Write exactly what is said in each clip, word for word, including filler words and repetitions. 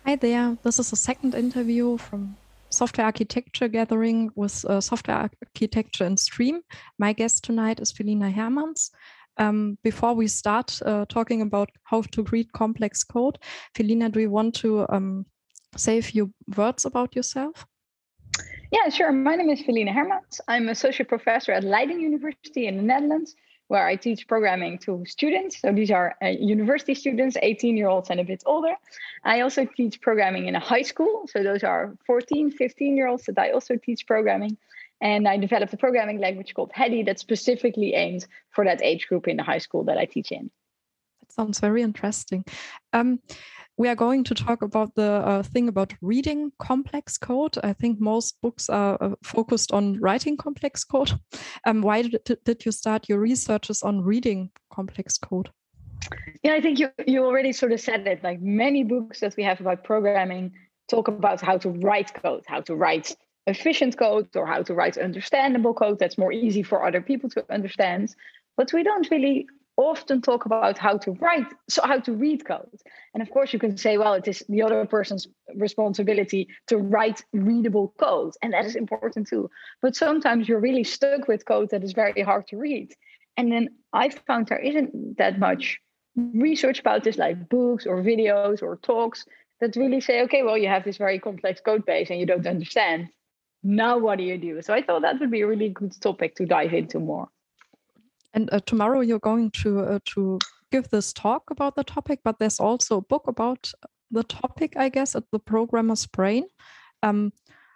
Hi there. This is a second interview from Software Architecture Gathering with uh, Software Architecture in Stream. My guest tonight is Felina Hermans. Um, before we start uh, talking about how to read complex code, Felina, do you want to um, say a few words about yourself? Yeah, sure. My name is Felina Hermans. I'm associate professor at Leiden University in the Netherlands, where I teach programming to students. So these are uh, university students, eighteen year olds and a bit older. I also teach programming in a high school. So those are fourteen, fifteen year olds that I also teach programming. And I developed a programming language called Hedy that's specifically aimed for that age group in the high school that I teach in. That sounds very interesting. Um, we are going to talk about the uh, thing about reading complex code. I think most books are uh, focused on writing complex code. Um, why did, did you start your researches on reading complex code? Yeah, I think you, you already sort of said it. Like many books that we have about programming talk about how to write code, how to write efficient code, or how to write understandable code that's more easy for other people to understand. But we don't really often talk about how to write, so how to read code. And of course, you can say, well, it is the other person's responsibility to write readable code. And that is important too. But sometimes you're really stuck with code that is very hard to read. And then I found there isn't that much research about this, like books or videos or talks that really say, okay, well, you have this very complex code base and you don't understand. Now, what do you do? So I thought that would be a really good topic to dive into more. And uh, tomorrow you're going to uh, to give this talk about the topic, but there's also a book about the topic, I guess, at the Programmer's Brain. Um,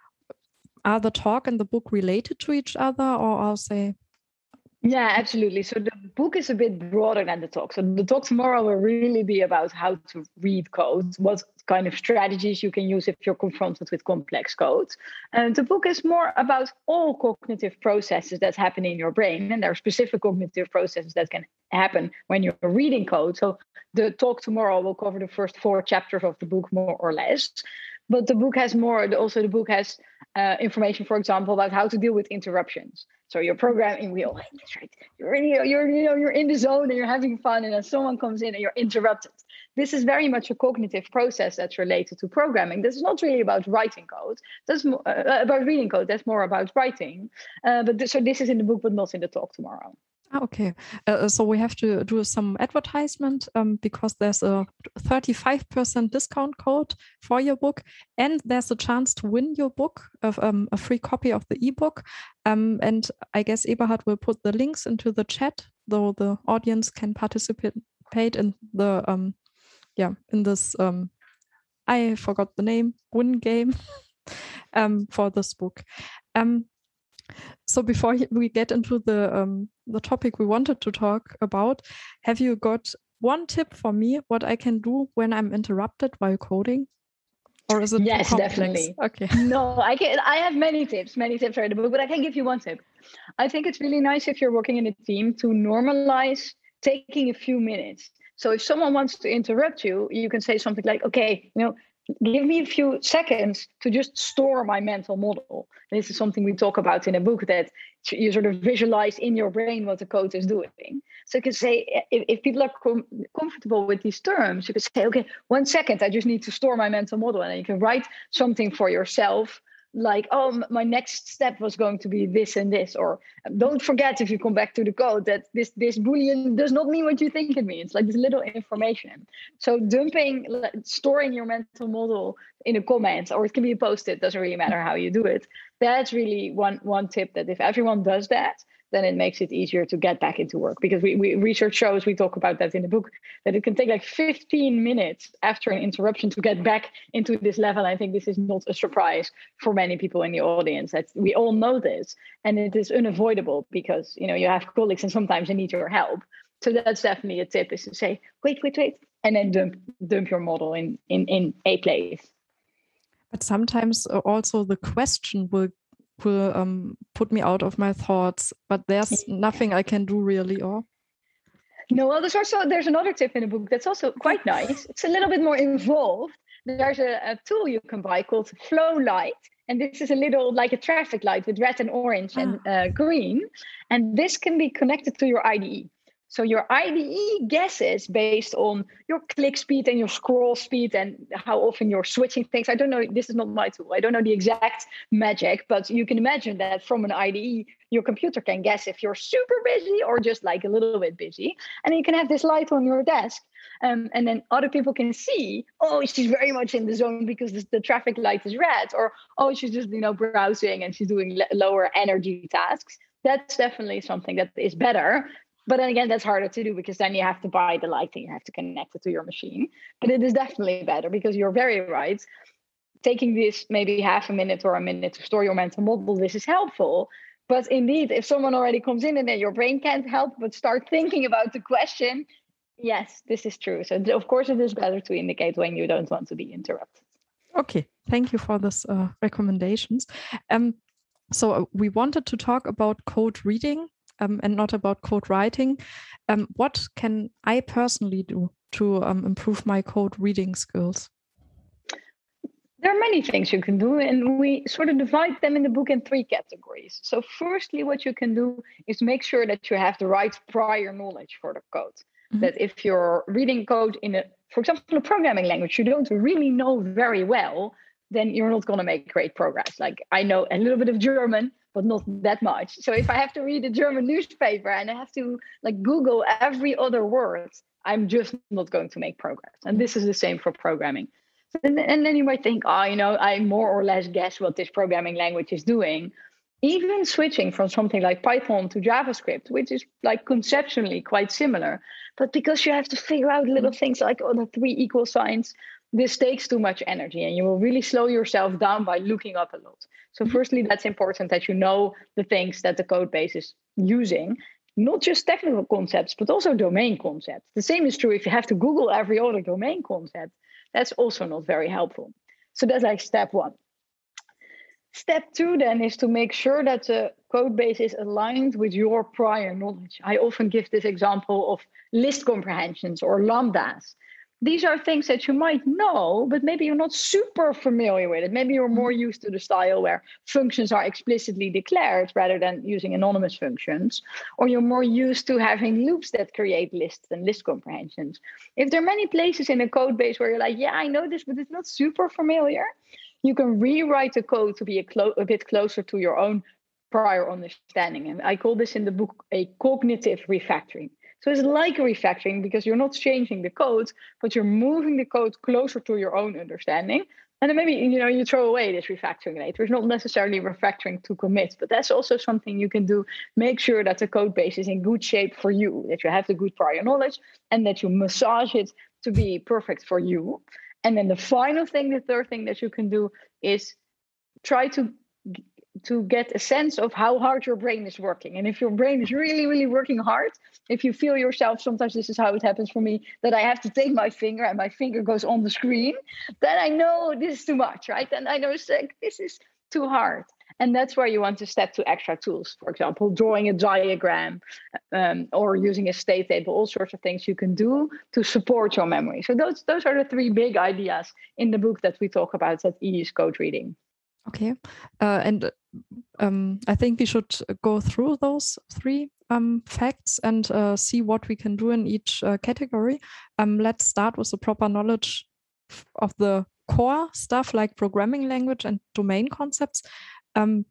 are the talk and the book related to each other, or are they? Yeah, absolutely. So the book is a bit broader than the talk. So the talk tomorrow will really be about how to read code, what kind of strategies you can use if you're confronted with complex code. And the book is more about all cognitive processes that happen in your brain. And there are specific cognitive processes that can happen when you're reading code. So the talk tomorrow will cover the first four chapters of the book, more or less. But the book has more, also the book has uh, information, for example, about how to deal with interruptions. So you're programming wheel, that's right. You're in, you're, you know, you're in the zone and you're having fun, and then someone comes in and you're interrupted. This is very much a cognitive process that's related to programming. This is not really about writing code. That's more, uh, about reading code. That's more about writing. Uh, but this, so this is in the book, but not in the talk tomorrow. Okay, uh, so we have to do some advertisement um, because there's a thirty-five percent discount code for your book, and there's a chance to win your book, of um, a free copy of the ebook. Um, and I guess Eberhard will put the links into the chat, though the audience can participate in the um, yeah in this um, I forgot the name win game um, for this book. Um, So before we get into the um, the topic we wanted to talk about, have you got one tip for me what I can do when I'm interrupted while coding? Or is it yes, definitely. Okay. No, I can. I have many tips, many tips in the book, but I can give you one tip. I think it's really nice if you're working in a team to normalize taking a few minutes. So if someone wants to interrupt you, you can say something like, okay, you know, give me a few seconds to just store my mental model. This is something we talk about in a book, that you sort of visualize in your brain what the code is doing. So you can say, if, if people are com- comfortable with these terms, you could say, okay, one second, I just need to store my mental model. And then you can write something for yourself, like, oh, my next step was going to be this and this, or don't forget, if you come back to the code, that this this boolean does not mean what you think it means, like this little information. So dumping, storing your mental model in a comment, or it can be a post-it, doesn't really matter how you do it. That's really one one tip, that if everyone does that, then it makes it easier to get back into work. Because we, we research shows, we talk about that in the book, that it can take like fifteen minutes after an interruption to get back into this level. I think this is not a surprise for many people in the audience. That we all know this, and it is unavoidable because, you know, you have colleagues and sometimes they need your help. So that's definitely a tip, is to say, wait, wait, wait, and then dump dump your model in in, in a place. But sometimes also the question will will um, put me out of my thoughts, but there's nothing I can do really, or? No, well, there's also, there's another tip in the book that's also quite nice. It's a little bit more involved. There's a, a tool you can buy called Flow Light. And this is a little like a traffic light with red and orange and uh, green. And this can be connected to your I D E. So your I D E guesses based on your click speed and your scroll speed and how often you're switching things. I don't know, this is not my tool. I don't know the exact magic, but you can imagine that from an I D E, your computer can guess if you're super busy or just like a little bit busy. And you can have this light on your desk. Um, and then other people can see, oh, she's very much in the zone because the, the traffic light is red, or, oh, she's just, you know, browsing and she's doing l- lower energy tasks. That's definitely something that is better. But then again, that's harder to do because then you have to buy the light and you have to connect it to your machine. But it is definitely better because you're very right. Taking this maybe half a minute or a minute to store your mental model, this is helpful. But indeed, if someone already comes in and then your brain can't help but start thinking about the question, yes, this is true. So of course, it is better to indicate when you don't want to be interrupted. Okay, thank you for this uh, recommendations. Um, so we wanted to talk about code reading. Um, and not about code writing. Um, what can I personally do to um, improve my code reading skills? There are many things you can do, and we sort of divide them in the book in three categories. So firstly, what you can do is make sure that you have the right prior knowledge for the code. Mm-hmm. That if you're reading code in a, for example, a programming language you don't really know very well, then you're not going to make great progress. Like I know a little bit of German, but not that much. So if I have to read a German newspaper and I have to like Google every other word, I'm just not going to make progress. And this is the same for programming. And, and then you might think, oh, you know, I more or less guess what this programming language is doing. Even switching from something like Python to JavaScript, which is like conceptually quite similar, but because you have to figure out little things like oh, the three equal signs, this takes too much energy and you will really slow yourself down by looking up a lot. So firstly, that's important that you know the things that the code base is using, not just technical concepts, but also domain concepts. The same is true if you have to Google every other domain concept. That's also not very helpful. So that's like step one. Step two then is to make sure that the code base is aligned with your prior knowledge. I often give this example of list comprehensions or lambdas. These are things that you might know, but maybe you're not super familiar with it. Maybe you're more used to the style where functions are explicitly declared rather than using anonymous functions, or you're more used to having loops that create lists and list comprehensions. If there are many places in a code base where you're like, yeah, I know this, but it's not super familiar, you can rewrite the code to be a, clo- a bit closer to your own prior understanding. And I call this in the book a cognitive refactoring. So it's like a refactoring because you're not changing the code, but you're moving the code closer to your own understanding. And then maybe, you know, you throw away this refactoring later. It's not necessarily refactoring to commit, but that's also something you can do. Make sure that the code base is in good shape for you, that you have the good prior knowledge and that you massage it to be perfect for you. And then the final thing, the third thing that you can do is try to to get a sense of how hard your brain is working. And if your brain is really, really working hard, if you feel yourself, sometimes this is how it happens for me, that I have to take my finger and my finger goes on the screen, then I know this is too much, right? And I know it's like, this is too hard. And that's where you want to step to extra tools. For example, drawing a diagram um, or using a state table, all sorts of things you can do to support your memory. So those, those are the three big ideas in the book that we talk about that E is code reading. Okay. Uh, and um, I think we should go through those three um, facts and uh, see what we can do in each uh, category. Um, let's start with the proper knowledge of the core stuff like programming language and domain concepts. Um,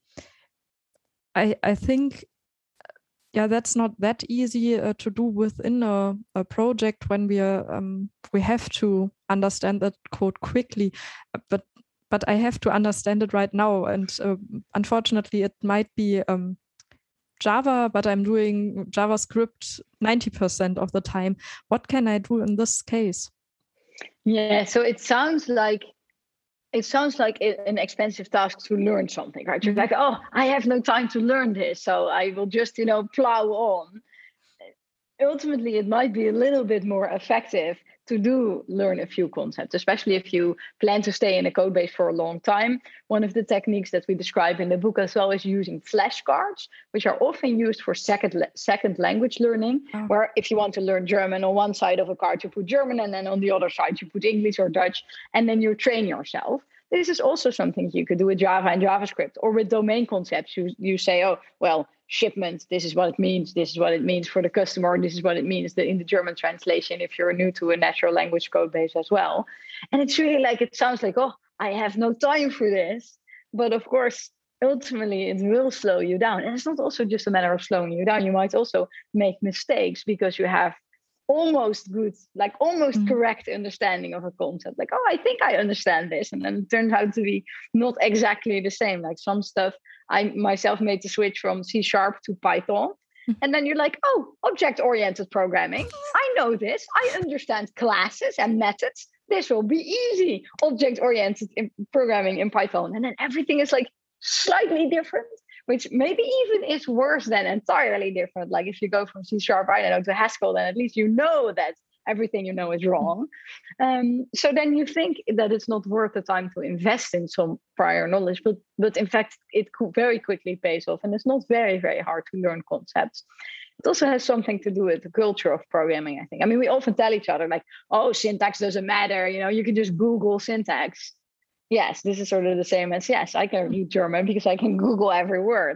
I, I think, yeah, that's not that easy uh, to do within a, a project when we are, um, we have to understand that code quickly, but but I have to understand it right now. And uh, unfortunately, it might be um, Java, but I'm doing JavaScript ninety percent of the time. What can I do in this case? Yeah, so it sounds like it sounds like an expensive task to learn something, right? You're like, oh, I have no time to learn this, so I will just, you know, plow on. Ultimately, it might be a little bit more effective to do learn a few concepts, especially if you plan to stay in a code base for a long time. One of the techniques that we describe in the book as well is using flashcards, which are often used for second second language learning, oh. where if you want to learn German, on one side of a card you put German, and then on the other side you put English or Dutch, and then you train yourself. This is also something you could do with Java and JavaScript, or with domain concepts. You, you say, oh, well, shipment, this is what it means, this is what it means for the customer, this is what it means in the German translation if you're new to a natural language code base as well. And it's really like, it sounds like, oh, I have no time for this. But of course, ultimately, it will slow you down. And it's not also just a matter of slowing you down. You might also make mistakes because you have almost good, like almost mm. correct understanding of a concept. Like, oh, I think I understand this. And then it turns out to be not exactly the same. Like some stuff I myself made the switch from C sharp to Python. Mm. And then you're like, oh, object-oriented programming. I know this. I understand classes and methods. This will be easy. Object-oriented in programming in Python. And then everything is like slightly different, which maybe even is worse than entirely different. Like if you go from C sharp, I don't know, to Haskell, then at least you know that everything you know is wrong. Um, so then you think that it's not worth the time to invest in some prior knowledge, but but in fact, it could very quickly pays off. And it's not very, very hard to learn concepts. It also has something to do with the culture of programming, I think. I mean, we often tell each other like, oh, syntax doesn't matter. You know, you can just Google syntax. Yes, this is sort of the same as, yes, I can read German because I can Google every word.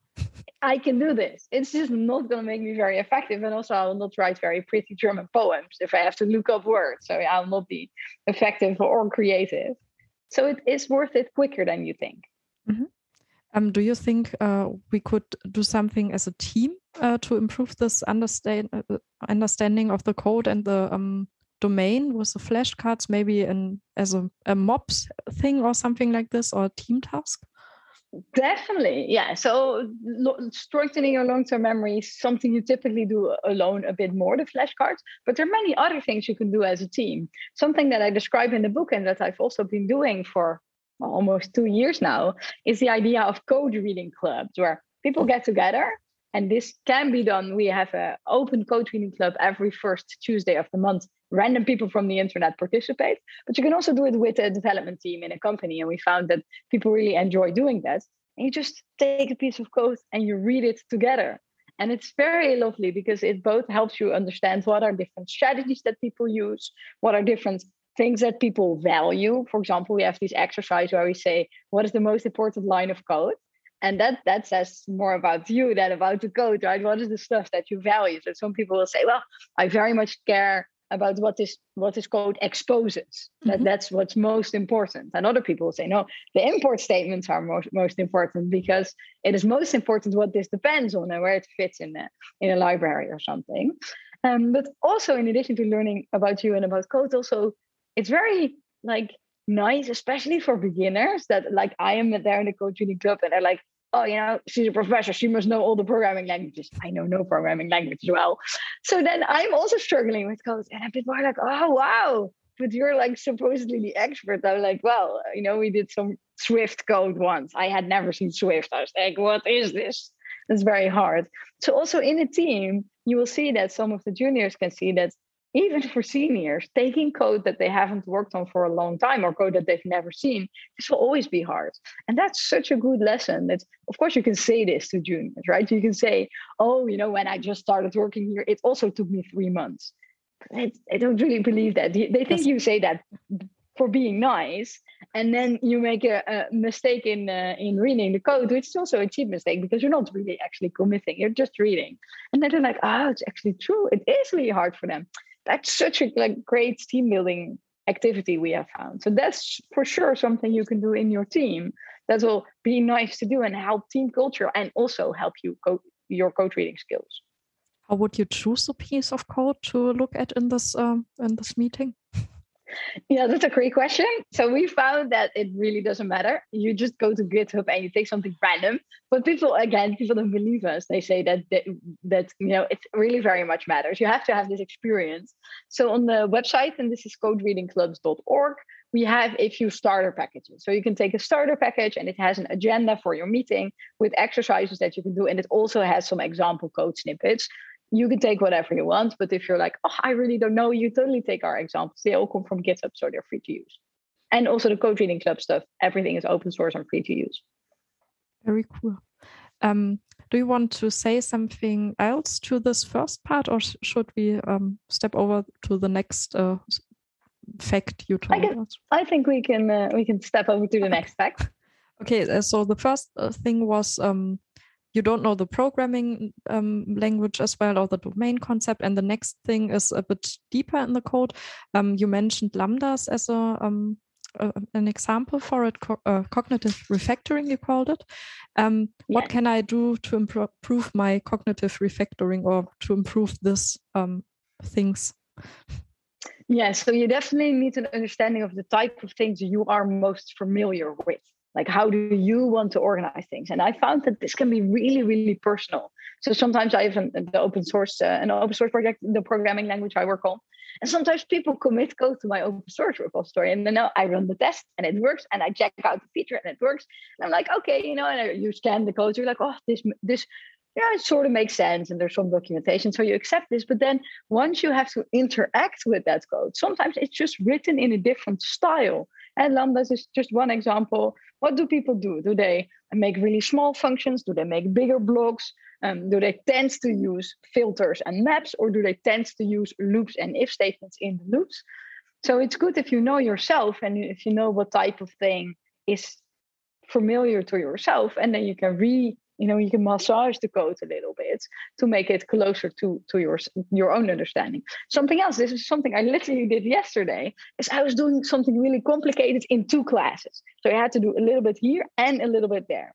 I can do this. It's just not going to make me very effective. And also I will not write very pretty German poems if I have to look up words. So I will not be effective or creative. So it is worth it quicker than you think. Mm-hmm. Um, do you think uh, we could do something as a team uh, to improve this understand, uh, understanding of the code and the um, domain with the flashcards, maybe in, as a, a mobs thing or something like this, or a team task? Definitely, yeah. So lo- strengthening your long-term memory is something you typically do alone a bit more, the flashcards, but there are many other things you can do as a team. Something that I describe in the book and that I've also been doing for almost two years now is the idea of code reading clubs where people get together. And this can be done. We have an open code reading club every first Tuesday of the month. Random people from the internet participate, but you can also do it with a development team in a company. And we found that people really enjoy doing that. And you just take a piece of code and you read it together. And it's very lovely because it both helps you understand what are different strategies that people use, what are different things that people value. For example, we have this exercise where we say, what is the most important line of code? And that that says more about you than about the code, right? What is the stuff that you value? So some people will say, well, I very much care about what this what this code exposes. Mm-hmm. That that's what's most important. And other people will say, no, the import statements are most, most important because it is most important what this depends on and where it fits in a, in a library or something. Um, but also in addition to learning about you and about code, also it's very like nice, especially for beginners, that like I am there in the code reading club and they're like, oh, you know, she's a professor, she must know all the programming languages. I know no programming language as well. So then I'm also struggling with code. And people are like, oh, wow, but you're like supposedly the expert. I'm like, well, you know, we did some Swift code once. I had never seen Swift. I was like, what is this? It's very hard. So also in a team, you will see that some of the juniors can see that even for seniors, taking code that they haven't worked on for a long time or code that they've never seen, this will always be hard. And that's such a good lesson that, of course, you can say this to juniors, right? You can say, oh, you know, when I just started working here, it also took me three months. But I don't really believe that. They think yes. You say that for being nice, and then you make a, a mistake in uh, in reading the code, which is also a cheap mistake because you're not really actually committing. You're just reading. And then they're like, oh, it's actually true. It is really hard for them. That's such a like great team building activity we have found. So that's for sure something you can do in your team that will be nice to do and help team culture and also help you code your code reading skills. How would you choose a piece of code to look at in this um, in this meeting? Yeah, that's a great question. So we found that it really doesn't matter. You just go to GitHub and you take something random. But people, again, people don't believe us. They say that, that, that you know, it really very much matters. You have to have this experience. So on the website, and this is code reading clubs dot org, we have a few starter packages. So you can take a starter package and it has an agenda for your meeting with exercises that you can do. And it also has some example code snippets. You can take whatever you want, but if you're like, oh, I really don't know, you totally take our examples. They all come from GitHub, so they're free to use. And also the Code Reading Club stuff, everything is open source and free to use. Very cool. Um, do you want to say something else to this first part, or sh- should we um, step over to the next uh, fact you told I can, us? I think we can uh, we can step over to the next fact. Okay, uh, so the first uh, thing was um, you don't know the programming um, language as well, or the domain concept. And the next thing is a bit deeper in the code. Um, you mentioned lambdas as a um, uh, an example for it, co uh, cognitive refactoring, you called it. Um, Yeah. What can I do to improve my cognitive refactoring, or to improve this um, things? Yeah, so you definitely need an understanding of the type of things you are most familiar with. Like, how do you want to organize things? And I found that this can be really, really personal. So sometimes I have an, the open source, uh, an open source project, the programming language I work on. And sometimes people commit code to my open source repository, and then I run the test and it works, and I check out the feature and it works. And I'm like, okay, you know, and you scan the code, you're like, oh, this, this, yeah, it sort of makes sense, and there's some documentation, so you accept this. But then once you have to interact with that code, sometimes it's just written in a different style. And lambdas is just one example. What do people do? Do they make really small functions? Do they make bigger blocks? Um, do they tend to use filters and maps, or do they tend to use loops and if statements in the loops? So it's good if you know yourself, and if you know what type of thing is familiar to yourself, and then you can re you know you can massage the code a little bit to make it closer to to your your own understanding. Something else, this is something I literally did yesterday, is I was doing something really complicated in two classes, so I had to do a little bit here and a little bit there.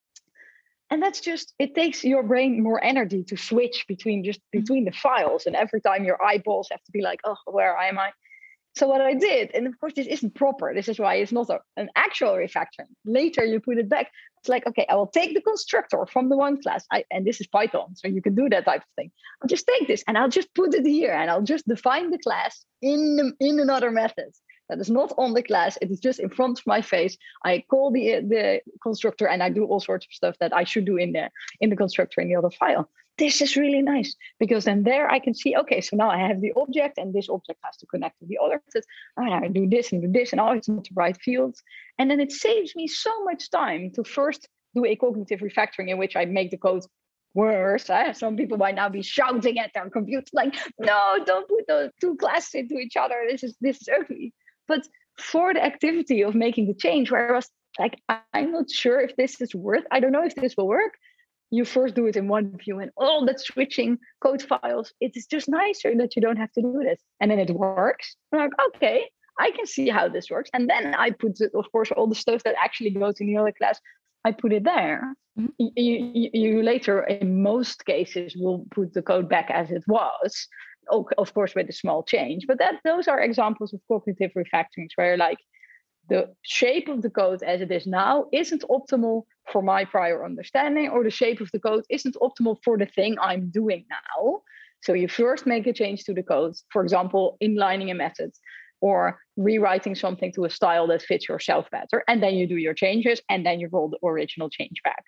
And that's just, it takes your brain more energy to switch between just between the files, and every time your eyeballs have to be like, oh, where am I? So what I did, and of course this isn't proper, this is why it's not a, an actual refactoring. Later you put it back. It's like, okay, I will take the constructor from the one class, I, and this is Python, so you can do that type of thing. I'll just take this and I'll just put it here, and I'll just define the class in, the, in another method. That is not on the class, it is just in front of my face. I call the, the constructor, and I do all sorts of stuff that I should do in the, in the constructor in the other file. This is really nice, because then there I can see, okay, so now I have the object, and this object has to connect to the other. And I do this and do this, and oh, it's not the right fields. And then it saves me so much time to first do a cognitive refactoring in which I make the code worse. Eh? Some people might now be shouting at their computer like, no, don't put those two classes into each other. This is this is ugly. But for the activity of making the change, where I was like, I'm not sure if this is worth, I don't know if this will work. You first do it in one view, and all that switching code files, it is just nicer that you don't have to do this. And then it works. I'm like, okay, I can see how this works. And then I put, it, of course, all the stuff that actually goes in the other class, I put it there. Mm-hmm. you, you, you later, in most cases, will put the code back as it was, of course, with a small change. But that those are examples of cognitive refactorings where, like, the shape of the code as it is now isn't optimal for my prior understanding, or the shape of the code isn't optimal for the thing I'm doing now. So you first make a change to the code, for example, inlining a method or rewriting something to a style that fits yourself better. And then you do your changes, and then you roll the original change back.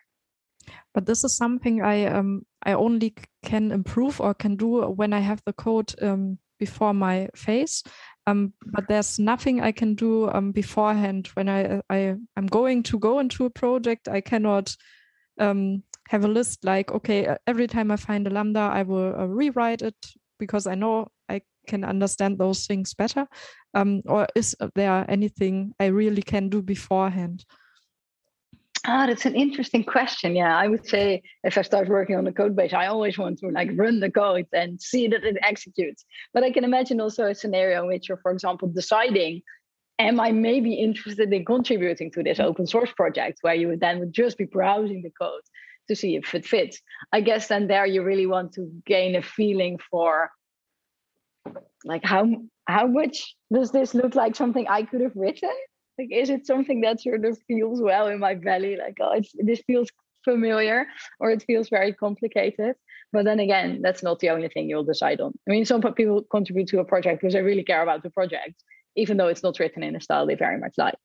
But this is something I um I only can improve or can do when I have the code um, before my face. Um, but there's nothing I can do um, beforehand. When I, I, I'm going to go into a project, I cannot um, have a list like, okay, every time I find a Lambda, I will uh, rewrite it because I know I can understand those things better. Um, or is there anything I really can do beforehand? Ah, that's an interesting question. Yeah, I would say if I start working on the code base, I always want to like run the code and see that it executes. But I can imagine also a scenario in which you're, for example, deciding, am I maybe interested in contributing to this open source project, where you would then would just be browsing the code to see if it fits. I guess then there you really want to gain a feeling for like how how much does this look like something I could have written? Like, is it something that sort of feels well in my belly? Like, oh, it's, this feels familiar, or it feels very complicated. But then again, that's not the only thing you'll decide on. I mean, some people contribute to a project because they really care about the project, even though it's not written in a style they very much like.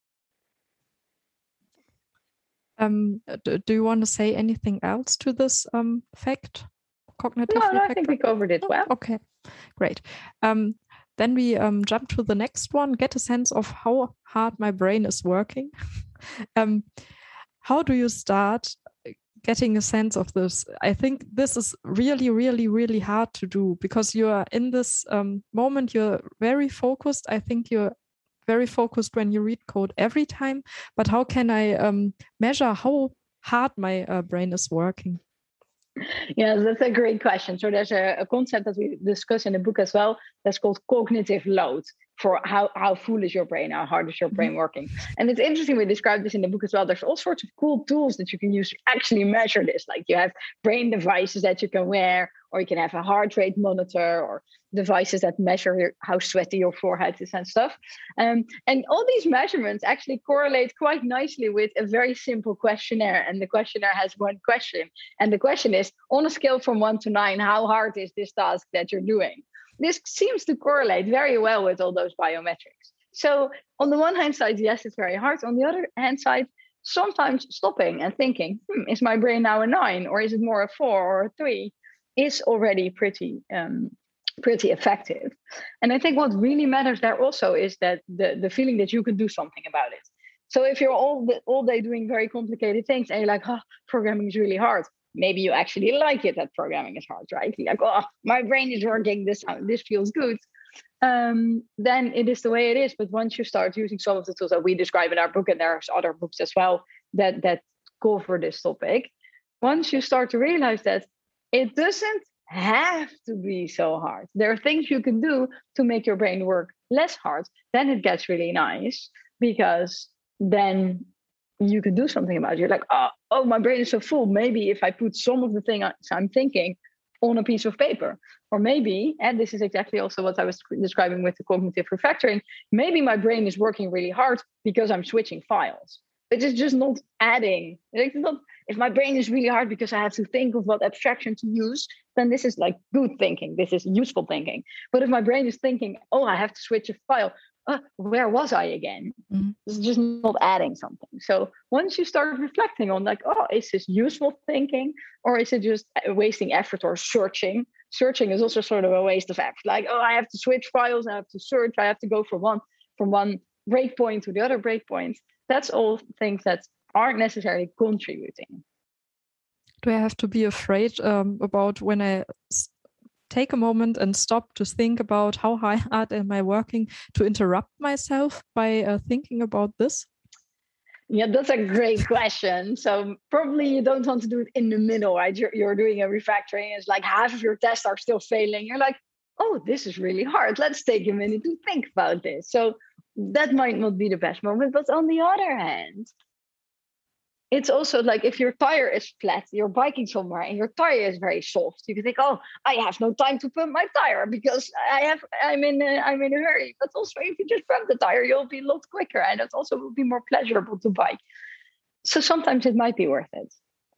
Um, do, do you want to say anything else to this um, fact? Cognitive no, no, I think we covered it well. Oh, okay, great. Um, Then we um, jump to the next one, get a sense of how hard my brain is working. um, how do you start getting a sense of this? I think this is really, really, really hard to do because you're in this um, moment, you're very focused. I think you're very focused when you read code every time, but how can I um, measure how hard my uh, brain is working? Yeah, that's a great question. So there's a, a concept that we discuss in the book as well that's called cognitive load, for how, how full is your brain, how hard is your brain working. And it's interesting, we describe this in the book as well. There's all sorts of cool tools that you can use to actually measure this. Like you have brain devices that you can wear, or you can have a heart rate monitor, or devices that measure your, how sweaty your forehead is and stuff. Um, and all these measurements actually correlate quite nicely with a very simple questionnaire. And the questionnaire has one question. And the question is, on a scale from one to nine, how hard is this task that you're doing? This seems to correlate very well with all those biometrics. So on the one hand side, yes, it's very hard. On the other hand side, sometimes stopping and thinking, hmm, is my brain now a nine, or is it more a four or a three, is already pretty um, pretty effective. And I think what really matters there also is that the, the feeling that you can do something about it. So if you're all the, all day doing very complicated things and you're like, oh, programming is really hard, maybe you actually like it that programming is hard, right? You're like, oh, my brain is working, this, this feels good. Um, then it is the way it is. But once you start using some of the tools that we describe in our book, and there's other books as well that, that cover this topic, once you start to realize that it doesn't have to be so hard, there are things you can do to make your brain work less hard, then it gets really nice, because then you can do something about it. You're like, oh, oh, my brain is so full. Maybe if I put some of the things I'm thinking on a piece of paper, or maybe, and this is exactly also what I was describing with the cognitive refactoring, maybe my brain is working really hard because I'm switching files. It is just not adding. It's not, if my brain is really hard because I have to think of what abstraction to use, then this is like good thinking. This is useful thinking. But if my brain is thinking, oh, I have to switch a file, uh, where was I again? Mm-hmm. It's just not adding something. So once you start reflecting on like, oh, is this useful thinking, or is it just wasting effort or searching? Searching is also sort of a waste of effort. Like, oh, I have to switch files, I have to search, I have to go from one from one breakpoint to the other breakpoint. That's all things that aren't necessarily contributing. Do I have to be afraid um, about when I s- take a moment and stop to think about how hard am I working, to interrupt myself by uh, thinking about this? Yeah, that's a great question. So probably you don't want to do it in the middle, right? You're, you're doing a refactoring. It's like half of your tests are still failing. You're like, oh, this is really hard. Let's take a minute to think about this. So that might not be the best moment. But on the other hand, it's also like if your tire is flat, you're biking somewhere and your tire is very soft. You can think, oh, I have no time to pump my tire because I have, I'm in, a, I'm in a hurry. But also, if you just pump the tire, you'll be a lot quicker, and it also will be more pleasurable to bike. So sometimes it might be worth it.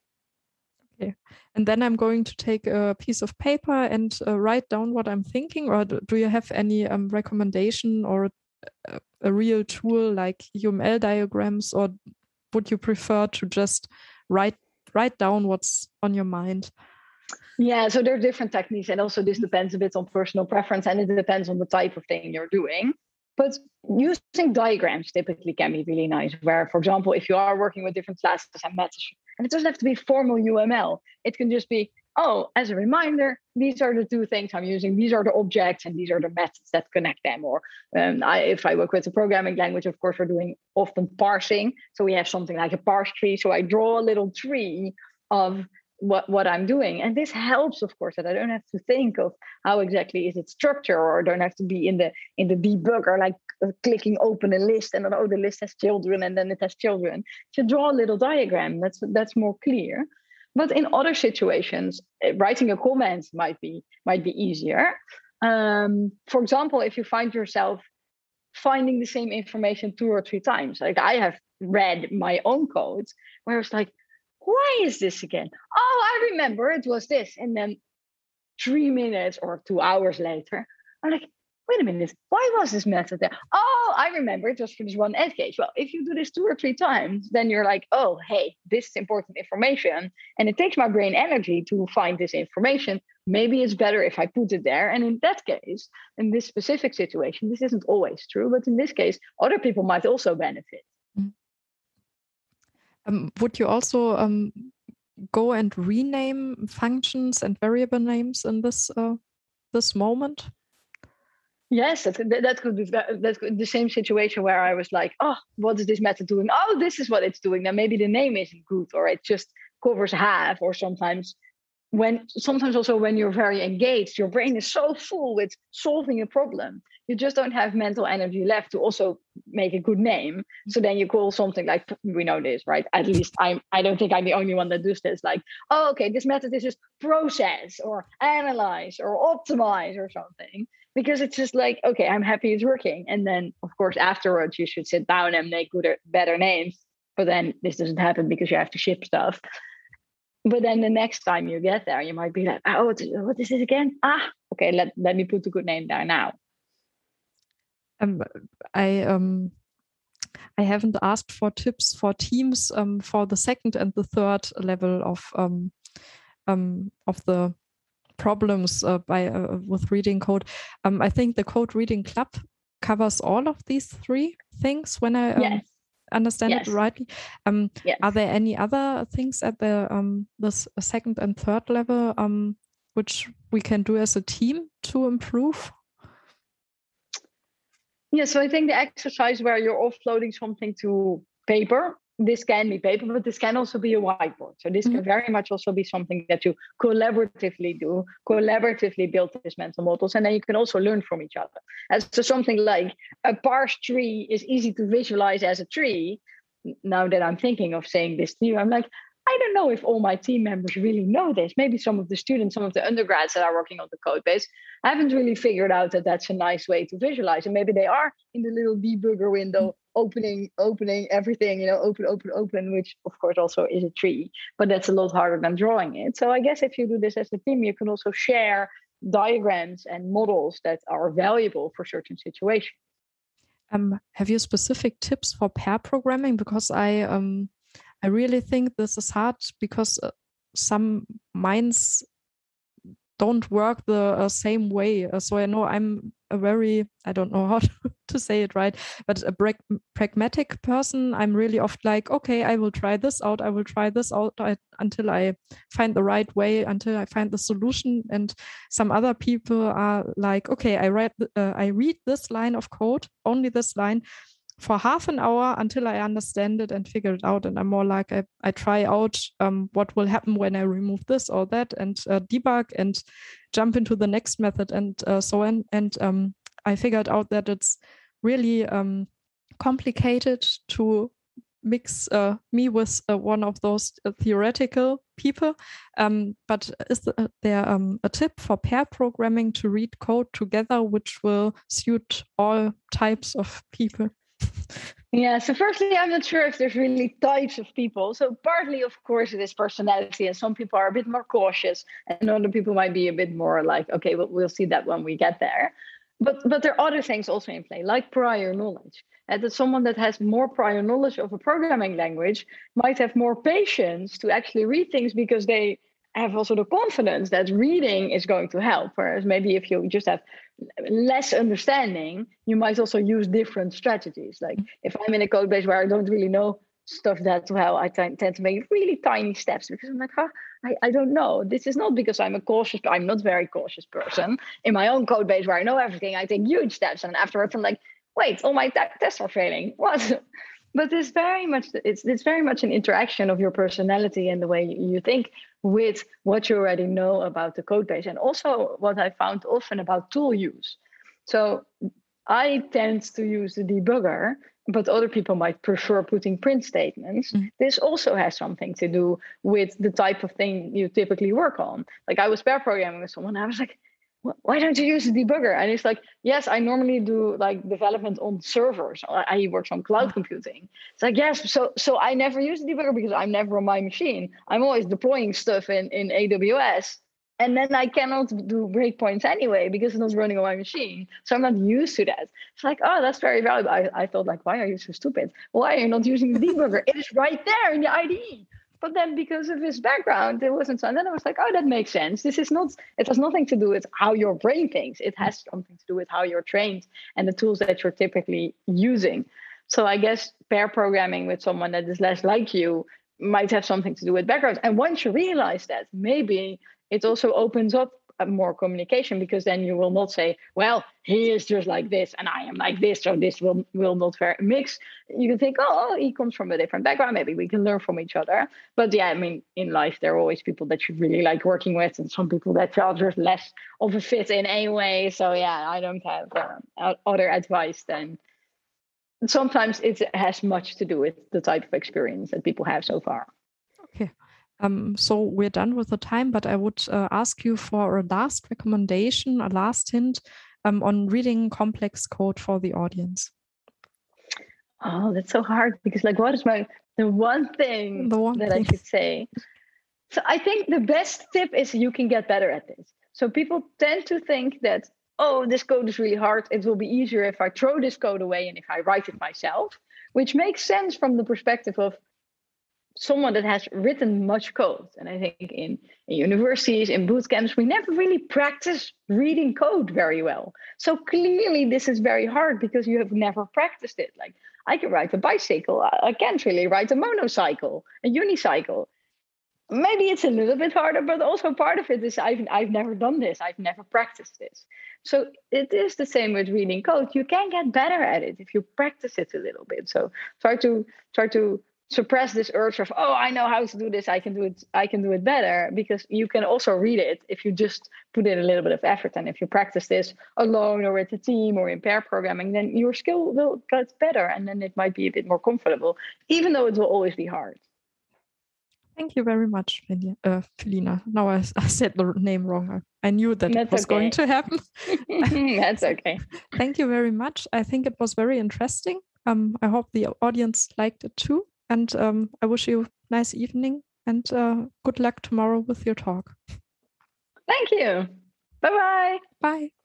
Okay, and then I'm going to take a piece of paper and uh, write down what I'm thinking. Or do you have any um, recommendation or a, a real tool like U M L diagrams, or would you prefer to just write write down what's on your mind? Yeah, so there are different techniques, and also this depends a bit on personal preference, and it depends on the type of thing you're doing. But using diagrams typically can be really nice, where, for example, if you are working with different classes and methods, and it doesn't have to be formal U M L, it can just be, oh, as a reminder, these are the two things I'm using. These are the objects and these are the methods that connect them. Or um, I, if I work with a programming language, of course, we're doing often parsing. So we have something like a parse tree. So I draw a little tree of what, what I'm doing. And this helps, of course, that I don't have to think of how exactly is it structured, or I don't have to be in the in the debugger, like uh, clicking open a list and then, oh, the list has children and then it has children. To draw a little diagram, that's that's more clear. But in other situations, writing a comment might be might be easier. Um, for example, if you find yourself finding the same information two or three times, like I have read my own code where it's like, why is this again? Oh, I remember it was this. And then three minutes or two hours later, I'm like, wait a minute, why was this method there? Oh, I remember it was for this one edge case. Well, if you do this two or three times, then you're like, oh, hey, this is important information. And it takes my brain energy to find this information. Maybe it's better if I put it there. And in that case, in this specific situation, this isn't always true, but in this case, other people might also benefit. Um, would you also um, go and rename functions and variable names in this uh, this moment? Yes, that, that could be that could, the same situation where I was like, oh, what is this method doing? Oh, this is what it's doing. Now maybe the name isn't good, or it just covers half, or sometimes when sometimes also when you're very engaged, your brain is so full with solving a problem, you just don't have mental energy left to also make a good name. So then you call something like, we know this, right? At least I'm I don't think I'm the only one that does this. Like, oh, okay, this method is just process or analyze or optimize or something. Because it's just like, okay, I'm happy it's working. And then, of course, afterwards, you should sit down and make good, better names. But then this doesn't happen because you have to ship stuff. But then the next time you get there, you might be like, oh, what is, what is this again? Ah, okay, let, let me put the good name there now. Um, I um, I haven't asked for tips for teams um, for the second and the third level of um, um, of the problems uh, by uh, with reading code. Um, I think the Code Reading Club covers all of these three things. When I um, yes. understand yes. it rightly, um, yes. are there any other things at the um, this second and third level um, which we can do as a team to improve? Yeah, so I think the exercise where you're offloading something to paper. This can be paper, but this can also be a whiteboard. So this mm-hmm. can very much also be something that you collaboratively do, collaboratively build these mental models, and then you can also learn from each other. And so something like a parse tree is easy to visualize as a tree. Now that I'm thinking of saying this to you, I'm like, I don't know if all my team members really know this. Maybe some of the students, some of the undergrads that are working on the code base haven't really figured out that that's a nice way to visualize. And maybe they are in the little debugger window, opening, opening everything, you know, open, open, open, which of course also is a tree, but that's a lot harder than drawing it. So I guess if you do this as a team, you can also share diagrams and models that are valuable for certain situations. Um, have you specific tips for pair programming? Because I um. I really think this is hard because uh, some minds don't work the uh, same way. Uh, so I know I'm a very, I don't know how to, to say it right, but a pra- pragmatic person. I'm really often like, okay, I will try this out. I will try this out I, until I find the right way, until I find the solution. And some other people are like, okay, I read, uh, I read this line of code, only this line, for half an hour until I understand it and figure it out. And I'm more like, I, I try out um, what will happen when I remove this or that and uh, debug and jump into the next method and uh, so on. And um, I figured out that it's really um, complicated to mix uh, me with uh, one of those uh, theoretical people. Um, but is there um, a tip for pair programming to read code together, which will suit all types of people? Yeah, so firstly, I'm not sure if there's really types of people. So partly, of course, it is personality, and some people are a bit more cautious, and other people might be a bit more like, okay, well, we'll see that when we get there. But but there are other things also in play, like prior knowledge. And that someone that has more prior knowledge of a programming language might have more patience to actually read things because they have also the confidence that reading is going to help. Whereas maybe if you just have less understanding, you might also use different strategies. Like if I'm in a code base where I don't really know stuff that well, I t- tend to make really tiny steps because I'm like, huh, I, I don't know. This is not because I'm a cautious, I'm not a very cautious person. In my own code base where I know everything, I take huge steps. And afterwards I'm like, wait, all my t- tests are failing. What? But it's very much it's it's very much an interaction of your personality and the way you think with what you already know about the code base, and also what I found often about tool use. So I tend to use the debugger, but other people might prefer putting print statements. Mm-hmm. This also has something to do with the type of thing you typically work on. Like I was pair programming with someone, I was like, why don't you use the debugger? And it's like, yes, I normally do like development on servers. I, I work on cloud computing. It's like, yes, so so I never use the debugger because I'm never on my machine. I'm always deploying stuff in, in A W S. And then I cannot do breakpoints anyway because it's not running on my machine. So I'm not used to that. It's like, oh, that's very valuable. I, I thought like, why are you so stupid? Why are you not using the debugger? It is right there in the I D E. But then because of his background, it wasn't so. And then I was like, oh, that makes sense. This is not, it has nothing to do with how your brain thinks. It has something to do with how you're trained and the tools that you're typically using. So I guess pair programming with someone that is less like you might have something to do with background. And once you realize that, maybe it also opens up uh, more communication, because then you will not say, well, he is just like this and I am like this, so this will will not very mix. You can think, oh, he comes from a different background, maybe we can learn from each other. But yeah, I mean, in life there are always people that you really like working with, and some people that are just less of a fit in any way. So yeah, I don't have uh, other advice than sometimes it has much to do with the type of experience that people have so far. Okay. Um, so we're done with the time, but I would uh, ask you for a last recommendation, a last hint um, on reading complex code for the audience. Oh, that's so hard, because like, what is my the one thing the one that thing. I should say? So I think the best tip is you can get better at this. So people tend to think that, oh, this code is really hard. It will be easier if I throw this code away and if I write it myself, which makes sense from the perspective of someone that has written much code. And I think in, in universities, in boot camps, we never really practice reading code very well. So clearly this is very hard because you have never practiced it. Like, I can ride a bicycle. I can't really ride a monocycle, a unicycle. Maybe it's a little bit harder, but also part of it is I've, I've never done this. I've never practiced this. So it is the same with reading code. You can get better at it if you practice it a little bit. So try to try to suppress this urge of, oh, I know how to do this, I can do it, I can do it better, because you can also read it if you just put in a little bit of effort. And if you practice this alone or with a team or in pair programming, then your skill will get better, and then it might be a bit more comfortable, even though it will always be hard. Thank you very much, uh, Felina. Now I, I said the name wrong. I knew that That's it was okay. going to happen. That's okay. Thank you very much. I think it was very interesting. Um, I hope the audience liked it too. And um, I wish you a nice evening, and uh, good luck tomorrow with your talk. Thank you. Bye-bye. Bye.